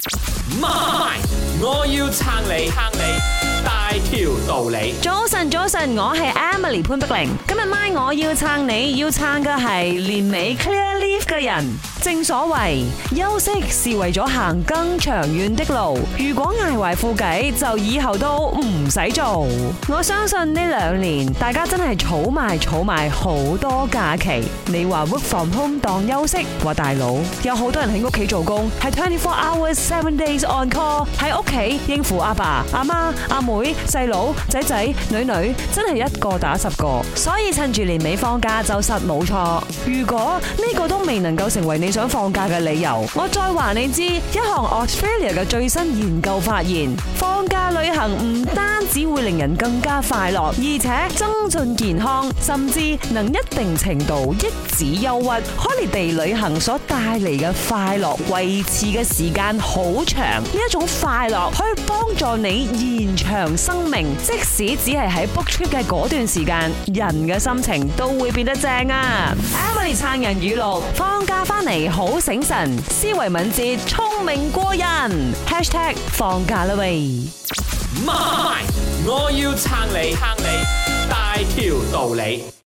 媽，我要撐你，大條道理。 早晨，我係 Emily 潘碧玲。今日晚我要撐你，要撐嘅係年尾 clear leave 嘅人。正所謂休息是為咗行更長遠的路，如果捱壞副計，就以後都唔使做。我相信呢2年大家真係儲埋好多假期。你話 work from home 當休息，話大佬有好多人喺屋企做工，係24 hours 7 days on call， 喺屋企應付阿爸、阿媽、阿妹、細佬、仔仔、女，真係一個打10個。所以趁住年尾放假就實冇錯。如果呢個都未能夠成為你想放假嘅理由，我再話你知，一項 Australia 嘅最新研究發現，放假旅行唔單止會令人更加快樂，而且增進健康，甚至能一定程度抑止憂鬱。Holiday 旅行所帶嚟嘅快樂維持嘅時間好長，呢一種快樂可以幫助你延長生命，即使只係喺 book trip 嘅嗰段時間，人嘅心情都會變得正啊！Emily 撐人語錄，放假翻嚟好醒神，思維敏捷，聰明過人。#放假啦喂！ 媽，我要撐你，大條道理。